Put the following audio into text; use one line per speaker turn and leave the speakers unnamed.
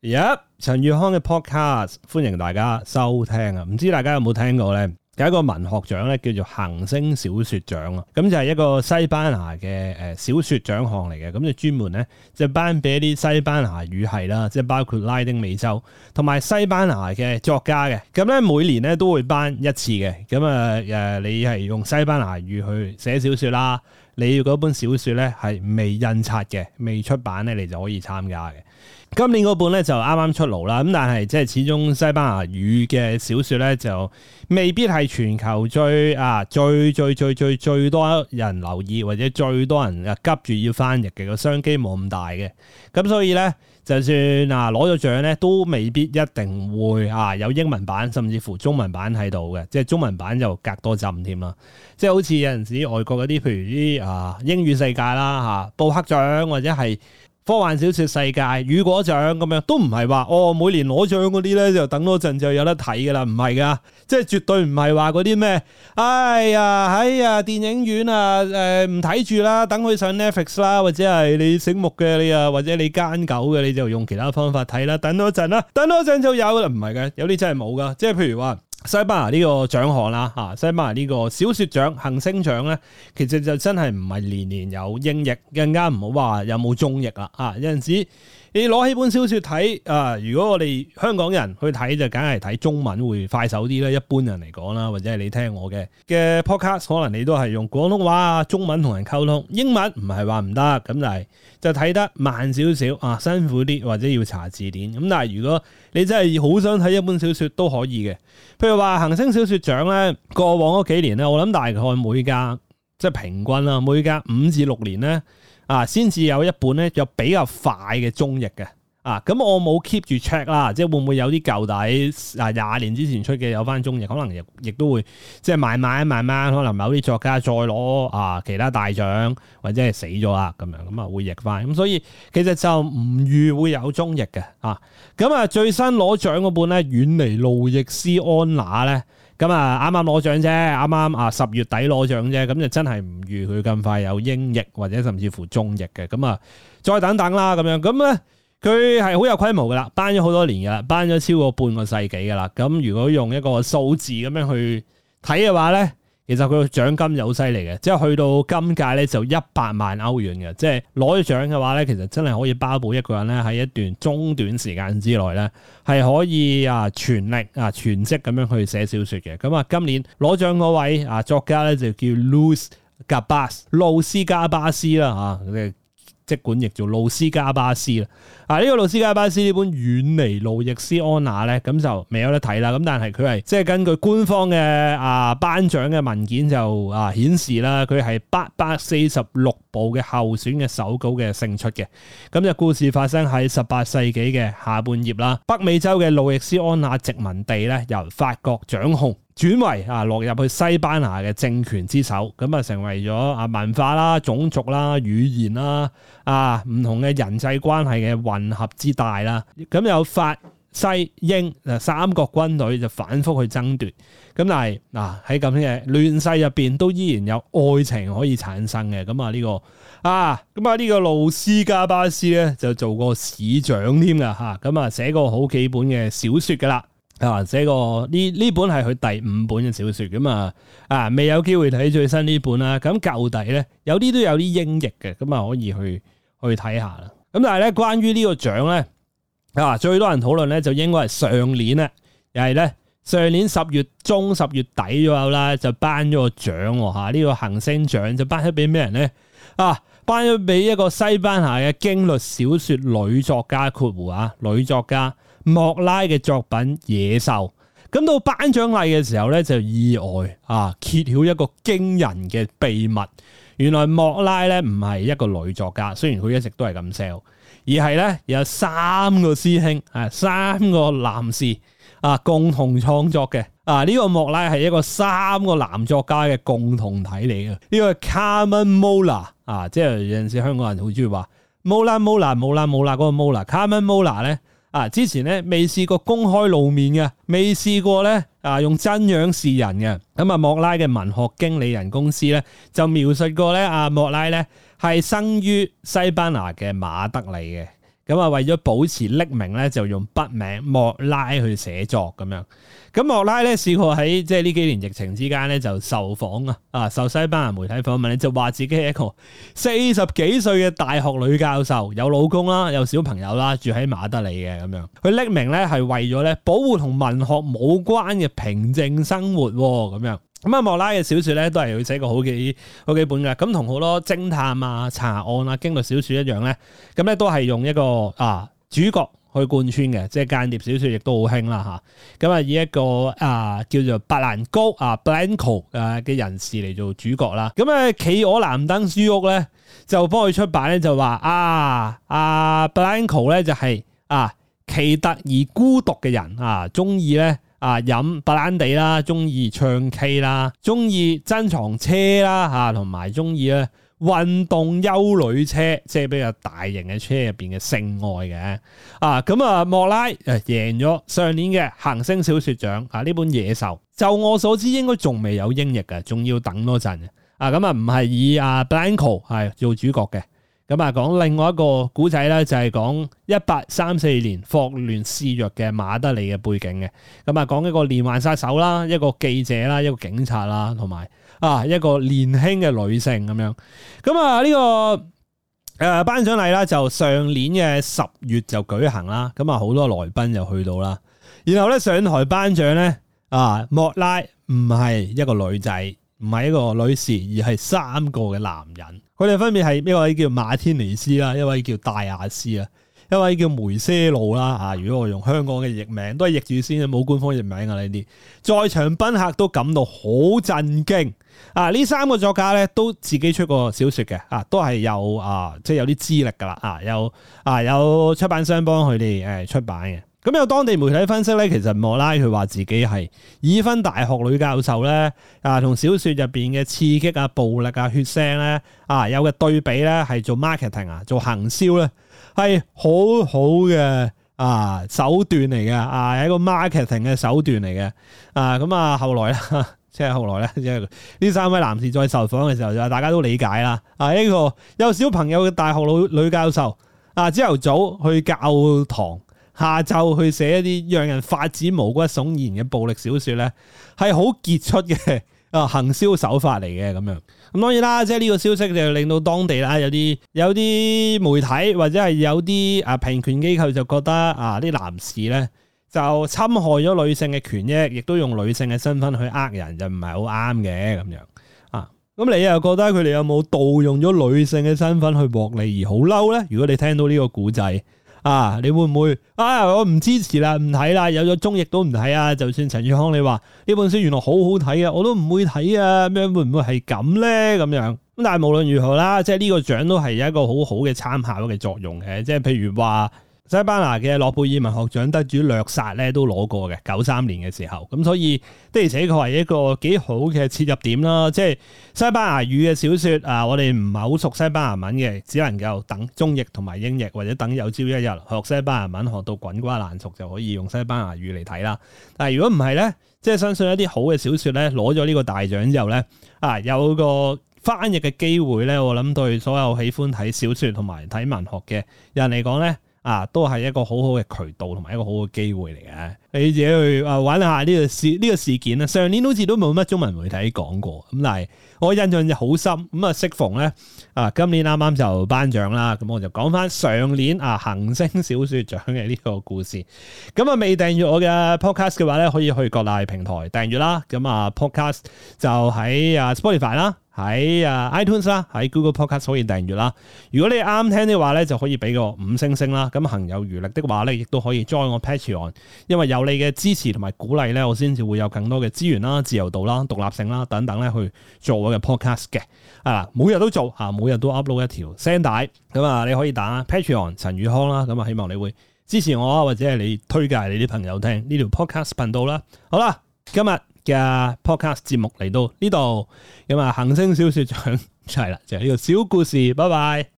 陳宇康嘅 podcast， 歡迎大家收聽啊！唔知大家有冇聽過呢？有一個文學獎咧，叫做恒星小說獎啊！咁就係一個西班牙嘅小說獎項嚟嘅，咁就專門咧就頒俾一啲西班牙語系啦，即係包括拉丁美洲同埋西班牙嘅作家嘅。咁咧每年咧都會頒一次嘅。咁你係用西班牙語去寫小說啦，你要嗰本小說咧係未印刷嘅、未出版咧，你就可以參加嘅。今年嗰本咧就啱啱出爐啦，咁但係即係始終西班牙語嘅小說咧就未必係全球最多人留意或者最多人急住要翻譯嘅，個商機冇咁大嘅，咁所以咧就算攞咗獎咧都未必一定會有英文版甚至乎中文版喺度嘅，即係中文版就隔多浸添啦，即係好似有陣時外國嗰啲譬如啲英語世界啦布克獎或者係科幻小說世界雨果獎咁樣，都唔係話每年攞獎嗰啲咧就等多陣就有得睇噶啦，唔係噶，即係絕對唔係話嗰啲咩，哎呀電影院唔睇住啦，等佢上 Netflix 啦，或者係你醒目嘅你或者你奸狗嘅你就用其他方法睇啦，等多陣啦，等多陣就有啦，唔係嘅，有啲真係冇噶，即係譬如話西班牙呢個獎項啦，西班牙呢個小說獎恒星獎咧，其實就真係唔係年年有英譯，更加唔好話有冇中譯啦。有陣時你攞起本小說睇，如果我哋香港人去睇就梗係睇中文會快手啲啦，一般人嚟講啦，或者係你聽我嘅 podcast， 可能你都係用廣東話中文同人溝通，英文唔係話唔得，咁但係就睇得慢少少辛苦啲，或者要查字典。咁但係如果你真係好想睇一本小說都可以嘅，譬如話恒星小說獎咧，過往嗰幾年咧，我諗大概每隔即係平均啦，每隔5至6年咧先至有一本咧有比較快嘅中譯嘅。咁我冇 keep 住 check 啦，即係會唔會有啲舊底20年之前出嘅有翻中譯，可能亦都會即係慢慢可能某啲作家再攞其他大獎或者係死咗啦咁樣會譯翻，咁所以其實就唔預會有中譯嘅咁最新攞獎嗰本咧遠離路易斯安那咧，咁啱啱攞獎啫，啱啱10月底攞獎啫，咁就真係唔預佢咁快有英譯或者甚至乎中譯嘅，咁再等等啦咁樣，咁咧佢係好有規模噶啦，頒咗好多年噶啦，頒咗超過半個世紀噶啦。咁如果用一個數字咁樣去睇嘅話咧，其實佢個獎金就好犀利嘅，即係去到今屆咧就100萬歐元嘅，即係攞咗獎嘅話咧，其實真係可以包保一個人咧喺一段中短時間之內咧係可以全力全職咁樣去寫小說嘅。咁今年攞獎嗰位作家咧就叫路斯加巴斯啦即管譯做路斯加巴斯啦。呢個路斯加巴斯呢本遠離路易斯安那咧，咁就未有得睇啦。咁但係佢係即係根據官方嘅頒獎嘅文件就顯示啦，佢係846部嘅候選嘅手稿嘅勝出嘅。咁就故事發生喺18世紀嘅下半葉啦，北美洲嘅路易斯安那殖民地咧由法國掌控，轉為落入去西班牙嘅政權之手，咁成為咗文化啦、種族啦、語言啦唔同嘅人際關係嘅混合之大啦。咁有法西英三國軍隊就反覆去爭奪，咁但係喺咁嘅亂世入邊都依然有愛情可以產生嘅。咁呢個路斯加巴斯咧就做過市長添噶咁寫過好幾本嘅小說噶啦。寫過呢本係佢第5本嘅小說咁未有機會睇最新呢本啦。咁舊底咧有啲都有啲英譯嘅，咁可以去睇下啦。咁但係咧關於呢個獎咧最多人討論咧就應該係上年啦，又係咧上年10月中10月底左右啦，就頒咗個獎呢個恒星獎就頒咗俾咩人咧頒咗俾一個西班牙嘅驚悚小說女作家女作家莫拉嘅作品《野獸》。咁到頒獎禮嘅時候咧，就意外揭曉一個驚人嘅秘密。原來莫拉咧唔係一個女作家，雖然佢一直都係咁 sell， 而係咧有3個師兄3個男士共同創作嘅。呢個莫拉係一個3個男作家嘅共同體嚟嘅。呢個 Carmen Mola 即係有陣時香港人好中意話 Mola 嗰個 Mola。Carmen Mola 咧之前咧未試過公開露面嘅，未試過咧用真樣示人嘅。咁莫拉嘅文學經理人公司咧就描述過咧莫拉咧係生於西班牙嘅馬德里嘅。 咁啊，為咗保持匿名咧，就用筆名莫拉去寫作咁樣。咁莫拉咧試過喺即係呢幾年疫情之間咧就受訪受西班牙媒體訪問咧，就話自己係一個40幾歲嘅大學女教授，有老公啦，有小朋友啦，住喺馬德里嘅咁樣。佢匿名咧係為咗咧保護同文學冇關嘅平靜生活咁樣。咁啊，莫拉嘅小說咧都係佢寫過好幾本嘅，咁同好多偵探啊、查案啊、驚悚小說一樣咧，咁咧都係用一個主角去貫穿嘅，即係間諜小說亦都好興啦嚇。咁啊，以一個叫做白蘭高Blanco 嘅人士嚟做主角啦。咁啊，企鵝藍燈書屋咧就幫佢出版咧，就話Blanco 咧就係奇特而孤獨嘅人中意咧。飲白蘭地啦，中意唱 K 啦，中意珍藏車啦同埋中意咧運動休旅車，即係比較大型嘅車入邊嘅性愛嘅。咁莫拉贏咗上年嘅行星小說獎呢本野獸，就我所知應該仲未有英譯嘅，仲要等多陣嘅。咁唔係以Blanco 係做主角嘅。咁講另外一個古仔咧，就係講1834年霍亂肆虐嘅馬德里嘅背景嘅。咁講一個連環殺手啦，一個記者啦，一個警察啦，同埋一個年輕嘅女性咁樣。咁呢個頒獎禮啦，就上年嘅10月就舉行啦。咁好多來賓就去到啦。然後咧上台頒獎咧，莫拉唔係一個女仔，唔係一個女士，而係3個嘅男人。佢哋分別係一位叫馬天尼斯啦，一位叫戴亞斯啦，一位叫梅些路啦。如果我用香港嘅譯名，都係譯住先，冇官方譯名呢啲。在場賓客都感到好震驚。呢3個作家咧都自己出過小說嘅，都係有即係有啲資歷噶啦，有出版商幫佢哋出版嘅。咁有當地媒體分析咧，其實莫拉佢話自己係已婚大學女教授咧，同小說入邊嘅刺激暴力血腥咧，有嘅對比咧，係做 marketing 做行銷咧，係好好嘅手段嚟嘅，係一個 marketing 嘅手段嚟嘅。咁後來咧，即係後來咧，即係呢3位男士再受訪嘅時候，就大家都理解啦。一個有小朋友嘅大學女教授，朝頭早去教堂，下晝去寫一啲讓人發指毛骨悚然嘅暴力小說咧，係好傑出嘅行銷手法嚟嘅咁樣。咁當然啦，即係呢個消息就令到當地啦有啲媒體或者係有啲平權機構就覺得啲男士咧就侵害咗女性嘅權益，亦都用女性嘅身份去呃人，就唔係好啱嘅咁樣。咁你又覺得佢哋有冇盜用咗女性嘅身份去獲利而好嬲咧？如果你聽到呢個故仔，你會唔會我唔支持啦，唔睇啦，有咗中譯都唔睇啊？就算陳宇康你話呢本書原來好好睇啊，我都唔會睇啊，咁樣會唔會係咁咧？咁樣咁，但係無論如何啦，即係呢個獎都係有一個好好嘅參考嘅作用嘅，即係譬如話西班牙嘅諾貝爾文學獎得主略薩咧都攞過嘅93年嘅時候，咁所以的而且確係一個幾好嘅切入點啦。即係西班牙語嘅小說我哋唔係好熟西班牙文嘅，只能夠等中譯同埋英譯，或者等有朝一日學西班牙文學到滾瓜爛熟就可以用西班牙語嚟睇啦。但係如果唔係咧，即係相信一啲好嘅小說咧攞咗呢個大獎之後咧有個翻譯嘅機會咧，我諗對所有喜歡睇小說同埋睇文學嘅人嚟講咧，都係一個好好嘅渠道同埋一個好好嘅機會嚟嘅。你自己去揾下呢個事件啦。上年好似都冇乜中文媒體講過，咁但係我印象就好深。咁適逢咧今年啱啱就頒獎啦，咁我就講翻上年行星小說獎嘅呢個故事。咁未訂閱我嘅 podcast 嘅話咧，可以去各大平台訂閱啦。咁podcast 就喺Spotify 啦，喺iTunes 啦，喺 Google Podcast 可以訂閱啦。如果你啱聽嘅話咧，就可以俾個5星星啦。咁行有餘力的話咧，亦都可以 join 我 Patreon， 因為有你嘅支持同埋鼓勵咧，我先至會有更多嘅資源啦、自由度啦、獨立性啦等等咧，去做我嘅 podcast 嘅。每日都做每日都 upload 一條聲帶。咁你可以打 Patreon 陳宇康啦。咁希望你會支持我或者係你推介你啲朋友聽呢條 podcast 頻道啦。好啦，今日嘅 podcast 節目嚟到呢度，咁行星小說獎就係啦，就係呢個小故事，拜拜。